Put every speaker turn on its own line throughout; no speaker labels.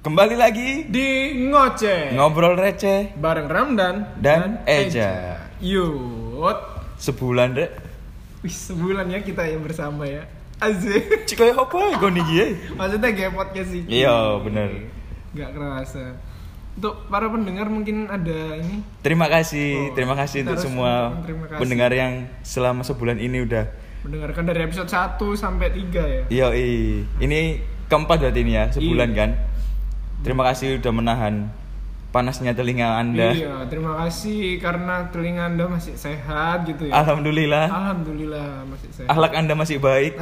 Kembali lagi
di Ngoceh
ngobrol receh
bareng Ramdan
dan Eja.
Yut.
Sebulan rek.
Wih, sebulan ya kita yang bersama ya. Asik.
Cik koyo apa ya kon iki?
Maksudnya kayak podcast sih.
Iya, bener.
Gak kerasa. Untuk para pendengar mungkin ada ini.
Terima kasih untuk semua pendengar yang selama sebulan ini udah
mendengarkan dari episode 1 sampai 3 ya.
Iya, ini keempat berarti ini ya, sebulan
Iya.
kan. Terima kasih udah menahan panasnya telinga Anda.
Iya, terima kasih karena telinga Anda masih sehat gitu ya.
Alhamdulillah
masih sehat.
akhlak Anda masih baik.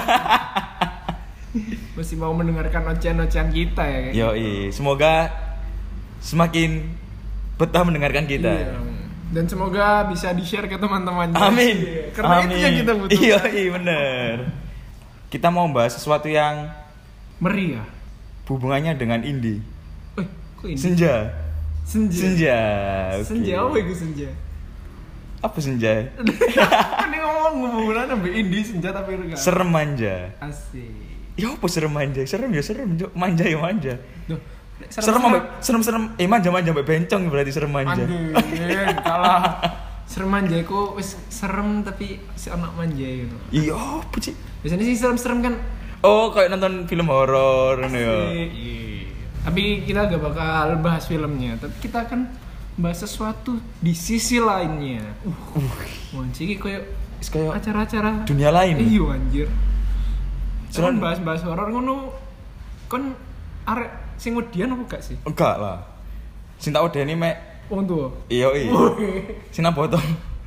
Masih mau mendengarkan ocehan-ocehan kita ya kayak.
Yoi, semoga semakin betah mendengarkan kita.
Iya. Dan semoga bisa di-share ke teman-teman.
Amin.
Karena
Amin.
itu yang kita butuhkan.
Iya, bener. Kita mau bahas sesuatu yang
Meriah.
hubungannya dengan indie.
Kok ini?
Senja.
Senja.
Oke.
Senja apa itu senja?
Apa senja?
Kan ini ngomong hubungan sampai indie senja tapi enggak.
Serem manja.
Asik.
Ya apa serem manja? Serem ya serem, Cuk. Manja ya manja.
Duh,
Serem serem manja berarti bencong berarti serem manja.
Anjir, kalah. Serem manja iku wis serem tapi si anak manja gitu.
Iya, apa sih?
Biasanya sih serem-serem kan.
Oh, kayak nonton film horor ngono ya.
Iya. Tapi kita gak bakal bahas filmnya, tapi kita akan bahas sesuatu di sisi lainnya. Wanci iki koyo
Kayak
acara-acara
dunia lain.
Iya anjir.
Cuman
bahas horor ngono kon arek sing wedian apa gak sih?
enggak lah. Sing tak wedeni mek
Wong tuwa.
iya. Sing nang botol.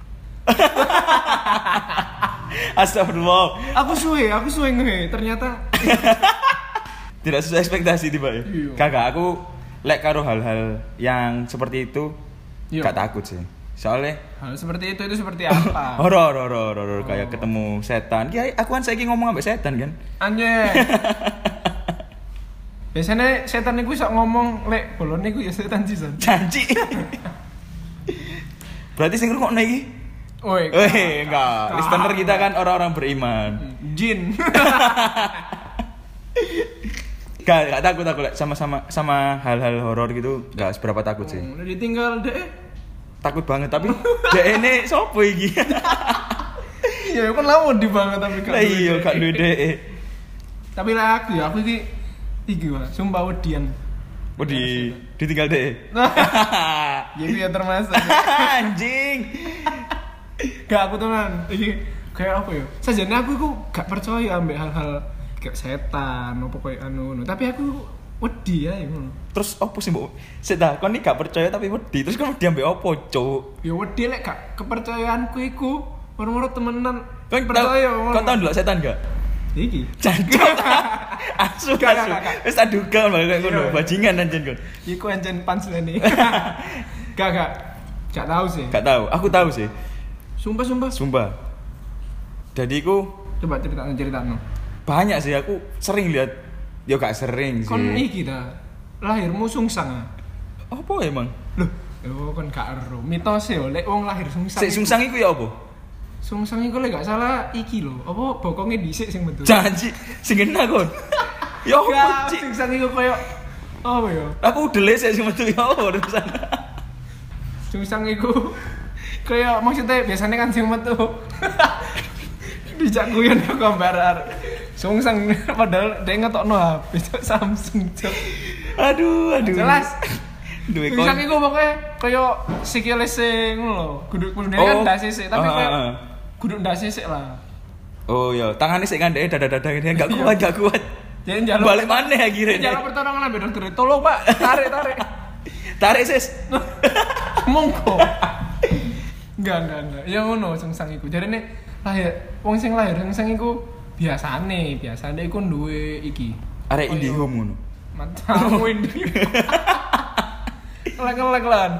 Astagfirullah.
Aku suwe ngehe. Ternyata
Tidak sesuai ekspektasi tiba ya.
Iya.
Kagak, aku lek karo hal-hal yang seperti itu
Iya.
gak takut sih. Soalnya
hal seperti itu seperti apa?
horor kayak ketemu setan. Ki aku kan saiki ngomong ambek setan kan.
Anjir. Biasanya setan iku iso ngomong lek bolone iku ya setan sih, Son.
Janji. Berarti sing ngrungokno iki. Enggak. Listener kita kan orang-orang beriman.
Jin.
Gak takut aku lek sama hal-hal horor gitu gak seberapa takut sih.
Udah ditinggal deh.
Takut banget tapi dek ini sopo iki?
Ya kan lamun di banget tapi
Lah iya gak duwe dek.
Tapi lah aku iki wah, sumpah wedian.
Oh ditinggal dek.
Jadi ya termasuk.
Anjing.
Gak aku teman. Iki kayak apa ya? Sajane aku iku gak percaya ambek hal-hal kayak setan apa koyo anu. Tapi aku wedi ya ngono.
Terus opo sih mbok? Sik ta, kon iki gak percaya tapi wedi. Terus kon wedi ambek opo, Cuk?
Ya wedi lek gak kepercayaanku iku moro-moro temenan.
Kon
percaya ngono.
Kon tau ndelok setan gak?
Iki.
Jancuk. Asu.
Gak.
Wis tak duga malah kayak ngono,
Iya.
bajingan anjen kon.
Iku anjen punchline. Gak tahu sih.
Gak tahu, aku tahu sih.
Sumpah.
Jadi aku
Coba ceritakan.
banyak sih aku sering lihat. Ya gak sering sih.
Kon iki ta. Lahirmu sungsang.
Apa emang?
Loh, kon gak ero. Mitos yo lek wong lahir sungsang.
Sik sungsang iku ya apa?
Sungsang iku lek gak salah iki lho. Apa bokonge dhisik sing metu.
Janji sing kena kon. Ya apa, Cik?
Sungsang iku koyo apa ya?
Aku udah sik sing metu ya apa terusan.
Sungsang iku koyo maksudnya biasanya kan sing metu. Dijak guyon gambar sungsang padahal dia ngetokno HP Samsung.
Aduh.
Jelas.
Duwe kon.
Sungsang iku pokoke koyo sikile sing ngono lho. Kudu kan ndak sisik tapi koyo kudu ndak sisik lah.
Oh iya, tangannya sik ngandeke dada-dada ngene gak kuat.
Jadi njaluk
Balik maneh akhirnya.
njaluk pertolongan ambek dokter. Tolong, Pak. Tarik.
Tarik sis.
Monggo. Enggak. Ya ngono sungsang iku. Jarene lahir wong sing lahir sungsang iku biasane iku duwe iki.
Arek IndiHome ngono.
Matamu ini. Lek lan.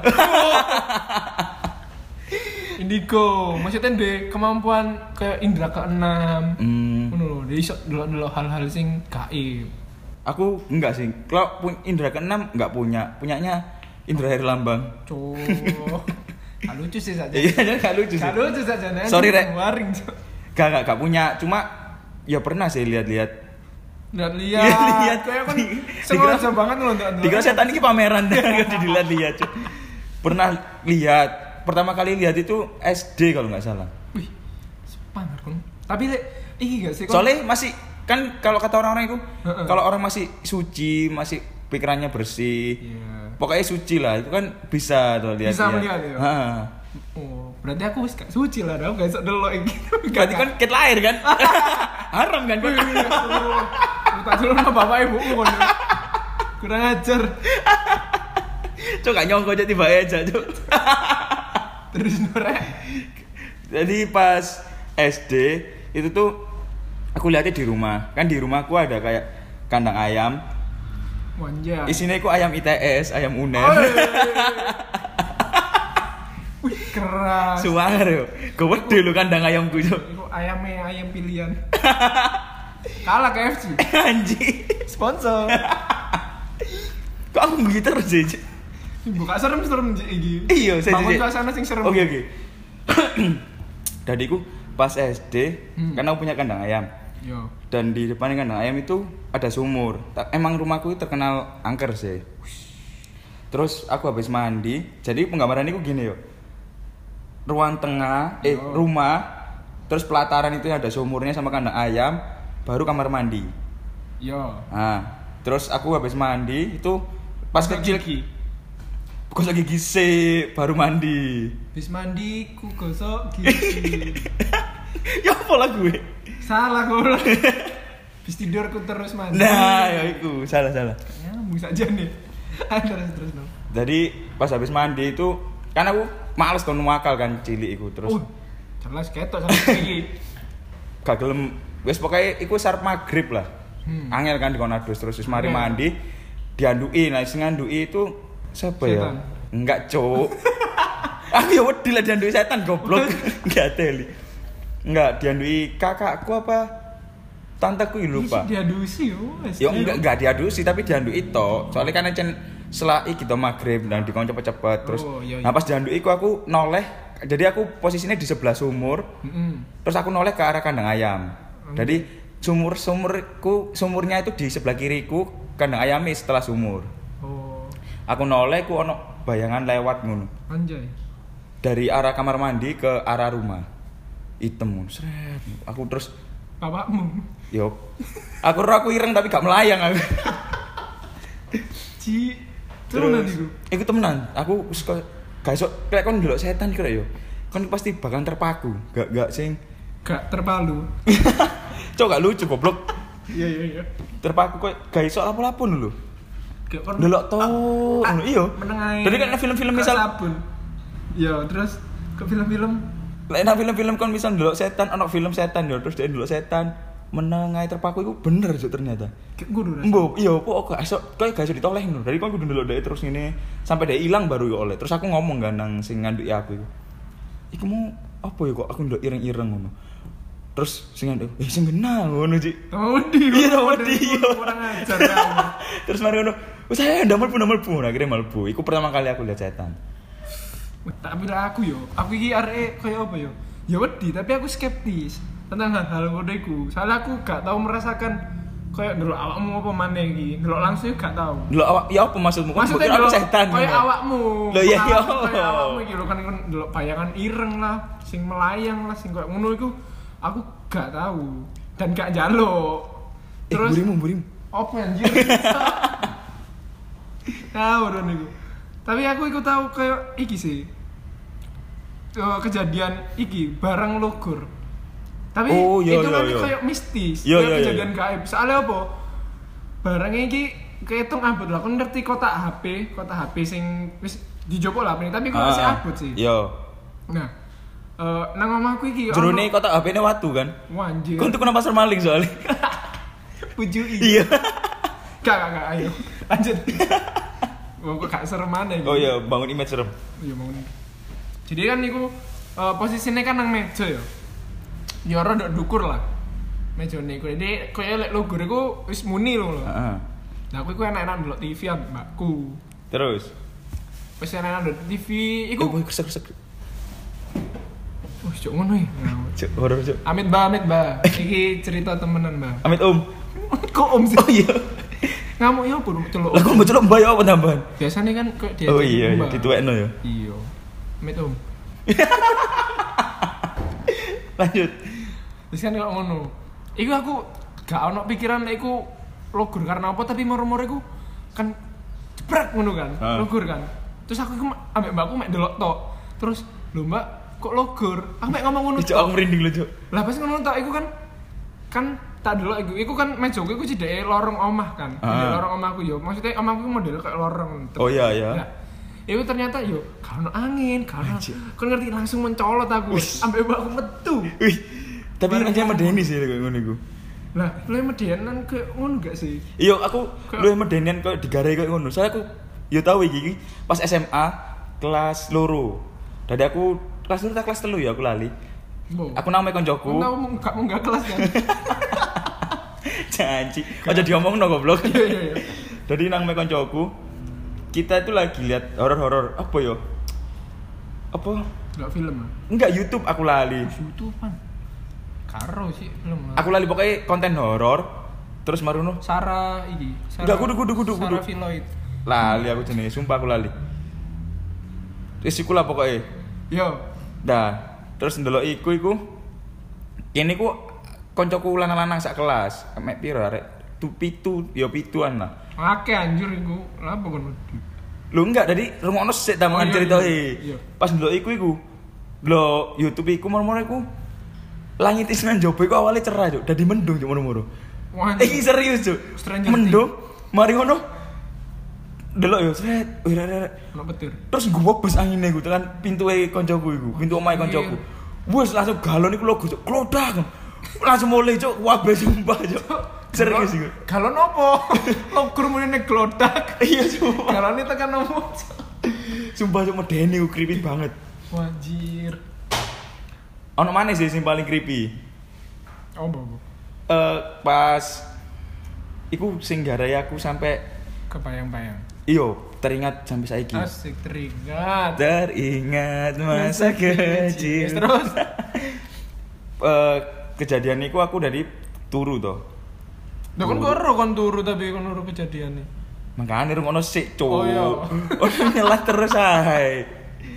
Indigo, maksudnya de kemampuan kayak indra keenam. Ngono lho, dia iso delok hal-hal sing gaib.
Aku enggak sih. Kalau indra keenam enggak punya. Punyanya Indra Herlambang.
Cuk. Gak lucu sih saja.
Iya, gak lucu sih.
Gak lucu saja.
Sorry, Rek.
Waring.
Gak punya. Cuma ya pernah sih lihat-lihat
Lihat. Kayak kan sengaja banget loh ndak.
Dikira setan iki pameran dilihat-lihat. Cuk. Pernah lihat. Pertama kali lihat itu SD kalau nggak salah.
Wih. Pamer kon. Tapi iki gak sih kon?
Soalnya masih kan kalau kata orang-orang itu kalau orang masih suci, masih pikirannya bersih.
Iya.
Pokoknya suci lah, itu kan bisa tuh lihat.
Bisa melihat ya.
Heeh.
Oh, berarti aku wis gak suci lah dong, gak iso delok iki.
Berarti kan ket lahir kan? Haram kan?
Tak dulu sama bapak ibuku kon. Kurang ajar.
Cuk gak nyongko aja tiba aja, Cuk.
Terus norek.
Jadi pas SD itu tuh aku lihatnya di rumah. Kan di rumahku ada kayak kandang ayam.
Wanja.
Isinya itu ayam ITS, ayam UNER.
Oh, wih, keras.
Suwanger yo. Gede lho kandang ayamku, Cuk.
Iku ayam pilihan. Kalah KFC.
Anjing.
Sponsor.
Kok aku gitu terus sih? Cuk?
Buka serem-serem iki.
Iya, saya
bangun suasana sing serem.
Oke. Dadiku pas SD, kan aku punya kandang ayam.
Yo.
Dan di depan kandang ayam itu ada sumur. Emang rumahku itu terkenal angker sih. Terus aku habis mandi, jadi penggambaran itu gini yo. Ruang tengah, rumah, terus pelataran itu ada sumurnya sama kandang ayam, baru kamar mandi.
Yo.
Nah, terus aku habis mandi itu pas kecil gosok gigi sih, baru mandi.
Habis mandi ku gosok gigi.
Ya apa lah gue?
Salah kok. Habis tidur ku terus mandi.
Nah, ya itu salah.
Nyambung saja nih. Terus dong.
Jadi pas habis mandi itu kan aku males kon wakal kan cilik iku terus.
Jelas ketok sama iki.
Gak gelem wis pokoke iku sarep magrib lah. Angel kan dikon adus terus wis mari mandi dianduki. Nah sing nganduki itu siapa ya? Enggak, Cuk. Aku ya wedi lah dianduki setan goblok. Enggak teli. Enggak dianduki kakakku apa tanteku lupa.
Diadusi
yo. Ya enggak diadusi tapi dianduki tok. Soalnya kan encen selai gitu maghrib dan dikon cepet-cepet terus. Nah pas dianduki aku noleh. Jadi aku posisinya di sebelah sumur. Terus aku noleh ke arah kandang ayam. Jadi sumurnya itu di sebelah kiriku, kandang ayamnya setelah sumur. Aku noleh ku ono bayangan lewat ngono.
Anjay.
Dari arah kamar mandi ke arah rumah. Hitam, sret. Aku terus
bapakmu.
Yo. Aku ireng tapi gak melayang aku.
Temenan iku.
Iku temenan. Aku wis gak iso kayak kon ndelok setan kira yo. Kon pasti bakal terpaku. Gak sing
gak terpalu.
Cok gak lucu goblok.
Iya.
Terpaku kok gak iso lapo-lapo lho. Delok to. Iya. Jadi kan film-film misal
sabun. Iya, terus ke film-film.
Lek nang film-film kon misal ndelok setan, ono film setan yo, terus dia ndelok setan meneng ae terpaku iku bener Cuk ternyata.
Kudu.
Mbok, iya kok gak iso ditoleh ngono. Dari kon kudu ndelok dhek terus ngene sampai dhek ilang baru yo oleh. Terus aku ngomong kan nang sing nganduki aku iku. Iku mau apa ya kok aku ndelok ireng-ireng ngono. Terus sing nganduk, sing genah ngono Cik. Iya,
Kurang ajar kamu.
Terus mari ngono, saya ndamel pun akhirnya malbu. Iku pertama kali aku lihat setan.
Tapi lah aku iki arek koyo apa yo? Ya wedi, tapi aku skeptis tentang hal-hal ngono iku. Soalnya aku gak tahu merasakan koyo ndelok awakmu apa maneh iki. Ndelok langsung gak tahu.
Ndelok awak ya apa maksudmu?
Maksudnya
aku setan.
Koyo awakmu.
Lho iya.
Koyo awakmu iki lho kan ndelok bayangan ireng lah, sing melayang lah, sing koyo ngono iku aku gak tahu dan gak njaluk. Terus
burimu.
Apa anjir? Tahu dong iku. Tapi aku ikut tahu kayak iki sih. Kejadian iki barang logor. Tapi itu nanti kayak mistis. Kejadian gaib. Soalnya apa? Barangnya iki kehitung abot lah. Kon ngerti kotak HP sing wis dijopo lah tapi kok masih abot sih.
Yo.
Nah, nang omahku iki
jerone kotak HP-ne watu kan?
Wanjir.
Kon tuku nang pasar maling soalnya.
Pujui. Iya. Gak ayo. Lanjut. Kok gak serem mana gitu.
Oh iya, bangun image serem.
Iya, bangun. Jadi kan niku posisinya kan nang meja ya. Ya rada dukur lah. Mejane iku. Jadi koyo lek logor iku wis muni lho.
Heeh.
Nah, aku iku enak-enak ndelok TV mbakku.
Terus
Wis enak-enak ndelok TV iku.
Kesek.
Wis cuk ngono ya.
Cuk, horor cuk.
Amit ba. Iki cerita temenan, Mbak.
Amit.
Kok om sih?
Oh iya.
Ngamuk ya pun celuk.
Lah kok celuk mbak ya apa tambahan?
Biasanya kan kayak dia.
Oh iya, dituwekno ya.
Iya. Met om.
Lanjut.
Terus kan kok ngono. Iku aku gak ono pikiran iku logor karena apa tapi moro-moro iku kan jebrak ngono kan. Logor kan. Terus aku ambek mbakku mek delok tok. Terus lho mbak kok logor? Aku mek ngomong ngono.
Cuk aku merinding lho, Cuk.
Lah pas ngono tok iku kan tak delok iku kan mejoku iku cideke lorong omah kan. Di lorong omahku yo. Maksudnya omahku model kayak lorong.
Oh iya ya.
Nah, itu ternyata yo kalau angin, kalau kan ngerti langsung mencolot aku. Sampai mbakku metu.
Wih. Tapi aja medeni sih kayak ngono iku.
Lah, lu medenan ke ngono gak sih?
Iya, aku lu medenian kok digare kayak ngono. Soalnya aku yo tau iki pas SMA kelas loro. Dari aku kelas loro ta kelas 3 ya aku lali. Aku nang mek koncoku.
Kamu enggak kelas kan?
Janji. Aja diomongno goblok.
Iya.
Jadi nang mek koncoku kita itu lagi lihat horor-horor apa yo? Apa?
Enggak film.
Enggak YouTube aku lali.
YouTube-an. Karo sih film.
Aku lali pokoknya konten horor. Terus maruno
Sarah iki.
Enggak kudu.
Sarah Filoid.
Lali aku jenenge, sumpah aku lali. Wis iku lah pokoknya.
Yo.
Dah, terus ndelok iku kene ku koncoku lanang-lanang sak kelas. Mek piro arek? Pitu pituan lah.
Akeh anjir iku. Lah apa kon?
Lho enggak, tadi rungokno sik ta mangan ceritae.
Iya.
Pas ndelok iku lho YouTube iku moro-moro iku langit isnan jopo iku awalnya cerah, Cuk. Dadi mendung cuk moro-moro.
Wah.
Iki serius, Cuk. Mendung. Mari ngono. Delok yo, sret.
Ono petir.
Terus gubobes angine iku tekan pintuke koncoku iku, pintu omahe koncoku. Wes langsung galon iku logo, Cuk. Klodak. Langsung mulai, Cuk. Wabeh sumpah, Cuk. Serius iku.
Galon opo? Logor meneh glodak.
Iya, sumpah.
Galone tekan opo?
Sumpah Cuk medeni ku creepy banget.
Wajir.
Ono mana sih sing paling creepy?
Oh, Bu.
Pas iku sing garai aku sampai
kebayang-bayang.
Iyo, teringat sampai saiki.
Asik teringat.
Teringat masa kecil.
Terus
kejadian iku aku dari turu to.
Lah kon karo kon turu tapi kon nuru kejadian nih.
Makane rungono sik, Cuk.
Oh iya.
Ono nyelat terus ae.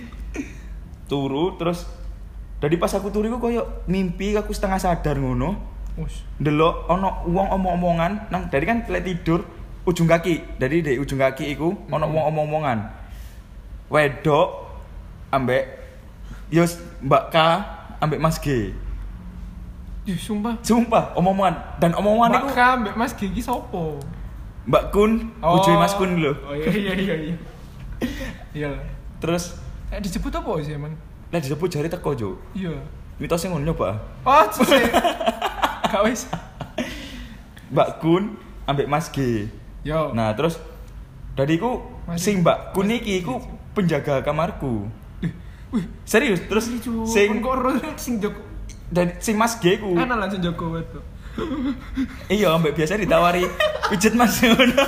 Turu terus dari pas aku turu iku koyo mimpi aku setengah sadar ngono.
Wes.
Ndelok ono wong omong-omongan nang dari kan lek tidur ujung kaki. Dari di ujung kaki iku ono wong omong-omongan. Wedok ambek yos Mbak K ambek Mas G.
Ih, sumpah.
Sumpah omongan dan omongan iku
Mbak K ambek Mas G iki sopo?
Mbak Kun, bojoe Mas Kun lho.
Oh iya. Iya.
Terus
Disebut apa sih emang?
lek disebut jari teko, Cuk.
Iya.
Mitosnya ngono nyoba.
Oh, sih. Gak wis.
Mbak Kun ambek Mas G.
Yo.
Nah, terus dadiku sing Mbak Kun iki iku penjaga kamarku.
Wih,
serius. Terus sing
kok sing Joko.
Dan sing Mas G ku.
Ana langsung Joko itu.
Iya, ambek biasa ditawari pijet Mas ngono.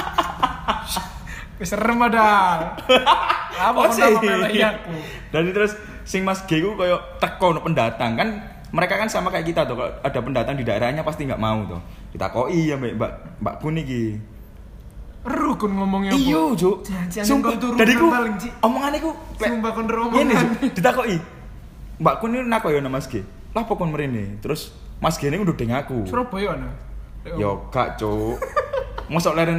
Wis serem padahal. Apa kok melek aku.
Dan terus sing Mas G ku koyo teko pendatang kan mereka kan sama kayak kita tuh kalau ada pendatang di daerahnya pasti nggak mau tuh ditakoki ya Mbak Kun iki.
Rukun ngomongnya apa?
Iya, Cuk. Sumpah dari ku omongane ku
sumpah kon omongan.
Ngene, Cuk, ditakoki. Mbak Kun ini nako ya nama Mas G. Lah pokon mrene. Terus Mas G ini udah deng aku.
Surabaya ana.
Yo gak, Cuk. Mosok leren.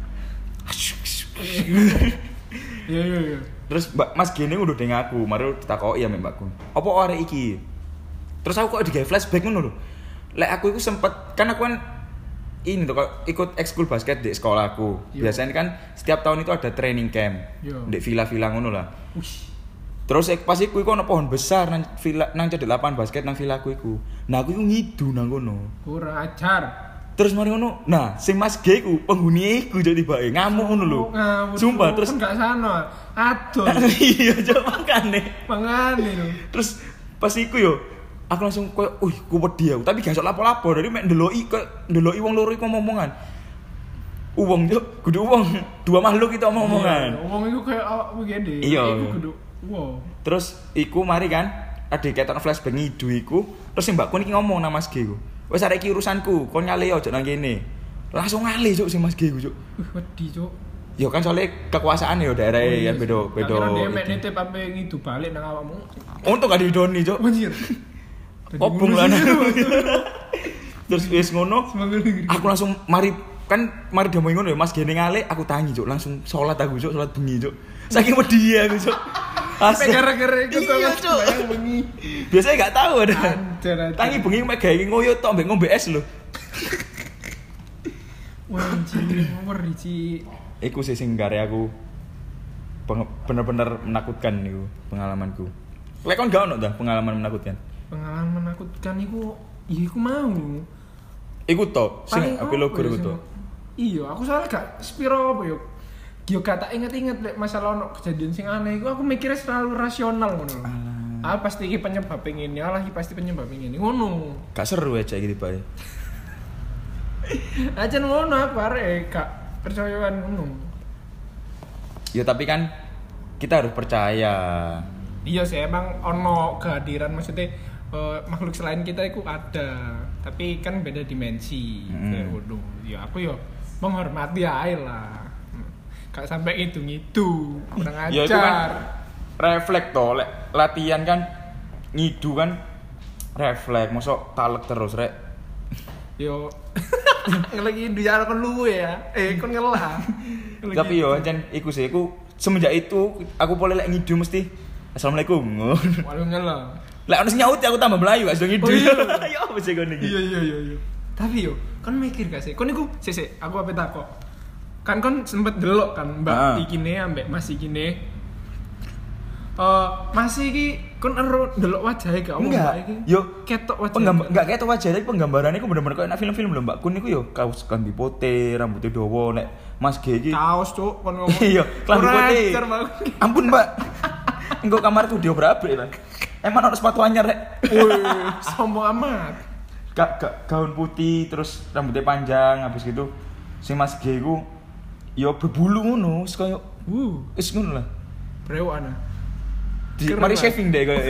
Iya.
Terus Mas G ini udah deng aku, mari ditakoki ya Mbak Kun. Apa arek iki? Terus aku kok digawe flashback ngono lho. Lek aku iku sempet kan aku kan ini tuh ikut ekskul basket di sekolahku. Biasanya kan setiap tahun itu ada training camp di villa-villa ngono lah. Terus pas iku ono pohon besar nang villa nang cedek lapangan basket nang villaku iku. Nah aku iku ngidu nang kono.
Kurang ajar.
Terus mari ngono. Nah, sing Mas G ku penghuni iku jadi tibake ngamuk ngono lho. Sumpah terus
enggak sana. Aduh.
Iya, coba makane.
Mangane lho.
Terus pas iku yo aku langsung koyo, ku wedi aku, tapi gak iso lapo-lapo dari mek ndeloki wong loro iku ngomong-ngomongan. Wong yo kudu wong, dua makhluk itu omong-omongan.
Wong iku kayak awakmu gede.
Iya.
Iku kudu wow.
Terus iku mari kan ada ketok flashback ngidu iku, terus Mbak Kun iki ngomong nang Mas G ku. Wis arek iki urusanku, kon nyale ojo nang kene. Langsung ngale cuk sing Mas G ku cuk.
Wedi cuk.
Ya kan soalnya kekuasaan ya daerah kan beda.
Kira dia mek nitip sampe ngidu balik nang awakmu.
Untung gak didoni cuk.
Anjir.
Kobong lah. Terus wis ngono, aku langsung mari demo ngono ya Mas Gene ngale, aku tangi cuk, langsung salat aku cuk, salat bengi cuk. Saking wedi aku cuk.
Sampai gara-gara itu
cuk.
Bengi.
Biasanya gak tahu ada. Tangi bengi mek gawe ngoyo tok mbek ngombe es lho.
Wah, nomor iki.
Iku sing gare aku bener-bener menakutkan niku pengalamanku. Lek kon gak ono ta pengalaman menakutkan?
Pengalaman menakutkan iku, ya iku mau.
Iku to, sing ape logor iku to.
Iya, aku soalnya gak spiro apa yo. Yo gak tak inget-inget lek masalah ono kejadian sing aneh iku aku mikirnya selalu rasional ngono. Pasti iki penyebab ngene, iki pasti penyebab ngene. Ngono.
Gak seru aja gitu, Pak.
Aja ngono aku arek gak percayaan ngono.
Ya tapi kan kita harus percaya.
Iya sih emang ono kehadiran maksudnya makhluk selain kita itu ada, tapi kan beda dimensi. Kayak waduh, ya aku yo menghormati aja lah. Gak sampai itu kurang ajar.
Ya itu kan refleks toh, latihan kan ngidu kan refleks, mosok talek terus rek.
Yo lagi di jalan kon luwe ya. Kon ngelah.
Tapi yo jan iku sih iku semenjak itu aku boleh lek ngidu mesti Assalamualaikum.
Waalaikumsalam.
Lek ono nyaut aku tambah melayu gak sedang ngidu. Ya apa sih kon iki?
Iya. Tapi yo, kon mikir gak sih? Kon iku sik aku ape takok. Kan kon sempet delok kan Mbak ikine ambek Mas ikine. Mas iki kon ero delok wajahe gak omong Mbak iki?
Yo
ketok wajahe.
Enggak ketok wajahe tapi penggambarannya iku bener-bener koyo nek film-film lho Mbak Kun iku yo kaos klambi putih, rambutnya dawa nek Mas G iki.
Kaos cuk kon ngomong.
Iya, klambi putih. Ampun Mbak. Engko kamarku dia berabrik lah. Emang ono sepatu anyar rek.
Wih, sombong amat.
Gaun putih terus rambutnya panjang habis gitu. Si Mas G iku yo berbulu ngono, wis koyo wis ngono lah.
Brewokan.
Mari shaving deh koyo.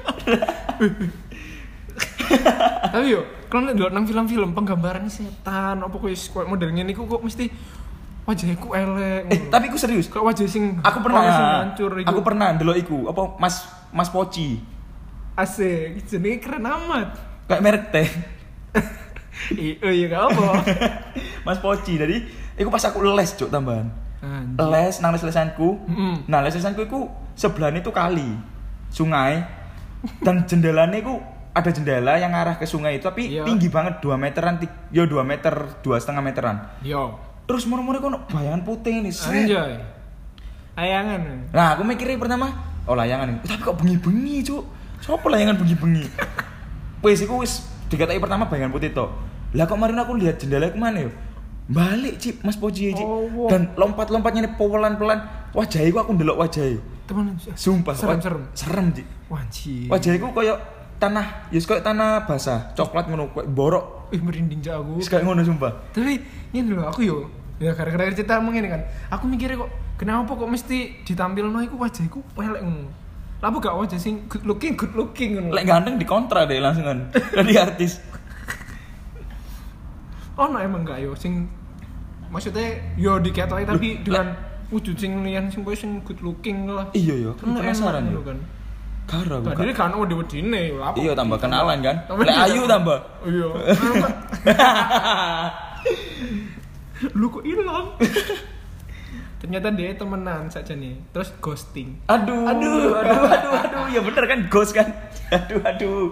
Tapi yo, kalau ndelok nang film-film penggambaran setan apa koyo model ngene iku kok mesti wajahku elek.
Tapi aku serius.
Kok wajah sing
aku pernah
hancur iku.
Aku pernah ndelok iku apa Mas Poci.
Asik, jenenge keren amat.
Kayak merek teh.
Iya gak apa.
Mas Poci. Jadi iku pas aku les cuk tambahan. Les nang les-lesanku. Nah, les-lesanku iku sebelahnya itu kali, sungai. Dan jendelanya iku ada jendela yang arah ke sungai itu tapi tinggi banget 2 meteran. Yo 2 meter, 2,5 meteran. Yo. Terus moro-moro kok bayangan putih ini.
Anjay. Layangan.
Nah, aku mikirnya pertama, oh layangan. Tapi kok bengi-bengi, Cuk. Sopo layangan bengi-bengi? Wis iku wis dikatai pertama bayangan putih tok. Lah kok kemarin aku lihat jendela kemana yo? Balik Cip, Mas Poji Cip. Dan lompat-lompatnya ini pelan-pelan. Wajahku aku ndelok wajahku.
Temen
sumpah serem Cip.
Wajib.
Wajahku koyo tanah, koyo tanah basah, coklat ngono koyo borok.
Merinding jak aku.
Wis kayak ngono sumpah.
Tapi ngene lho aku yo. Ya gara-gara cerita ngene kan. Aku mikirnya kok kenapa kok mesti ditampilno iku wajahku elek ngono. Lah gak wajah sing good looking ngono.
Lek ganteng dikontra deh langsungan. Jadi artis.
No emang gak yo sing maksudnya yo diketoki tapi dengan wujud sing liyan sing koyo sing good looking lah.
Iya yo, penasaran yo kan. Karo
bukan. Tadi kan wedi-wedine lha.
Iya tambah kenalan kan. Lek ayu tambah.
Iya. Lu kok hilang? Ternyata dia temenan saja nih. Terus ghosting.
Aduh. Ya bener kan ghost kan. Aduh.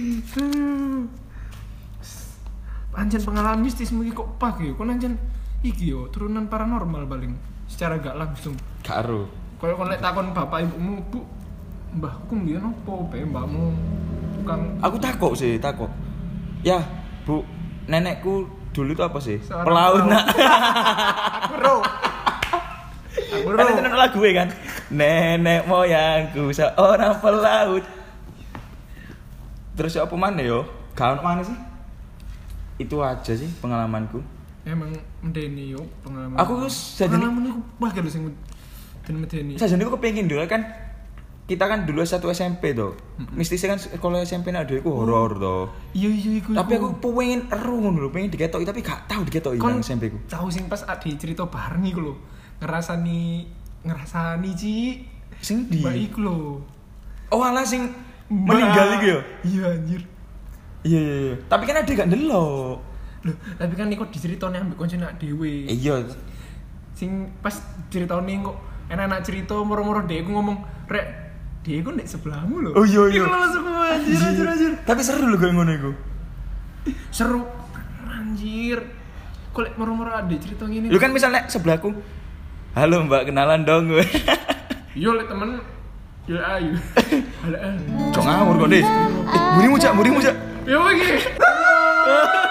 Anjen pengalaman mistis mungkin kok pagi yo. Kon anjen iki yo turunan paranormal paling secara gak langsung.
Karo.
Kalau kon lek takon bapak ibumu, Bu, mbahku mbiyen opo bae mbakmu tukang.
Aku takok. Ya, Bu, nenekku dulu itu apa sih?
Seorang
pelaut nak.
Aku
Kan itu lagu kan. Nenek moyangku seorang pelaut. Terus apa mana yo? Gak ono mana sih? Itu aja sih pengalamanku.
Emang medeni yo pengalaman.
Aku sajane
pengalaman iku wah gak sing den medeni.
Sajane aku kepengin dulu kan kita kan dulu satu SMP tuh. Mistisnya kan sekolah SMP nak dhewe iku horor to.
Iya iku.
Tapi aku pengen eru ngono lho, pengen diketoki tapi gak tahu diketoki nang SMP ku.
Tahu sing pas ade cerita bareng iku lho. Ngerasani Ci.
Sing di.
Mbak iku lho.
Oh alah sing meninggal iku ya.
Iya anjir.
Iya. Tapi kan ade gak ndelok.
Loh, tapi kan iku diceritone ambek koncone dhewe.
Iya.
Sing pas ceritane kok enak-enak cerita moro-moro dhek ngomong, "Rek, dia iku nek sebelahmu lho."
Oh iya.
Iku langsung anjir.
Tapi seru lho kayak ngono iku.
Seru. Anjir. Kok lek moro-moro ada cerita ngene.
Lu kan misalnya sebelahku. Halo Mbak, kenalan dong gue.
Yo lek temen yo ayu. Halo.
Cok ngawur kok, Des. Burimu cak.
Yo iki.